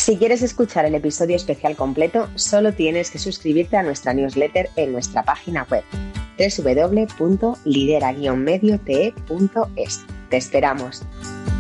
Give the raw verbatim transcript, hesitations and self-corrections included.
Si quieres escuchar el episodio especial completo, solo tienes que suscribirte a nuestra newsletter en nuestra página web doble u doble u doble u punto lidera guion medio te punto es. ¡Te esperamos!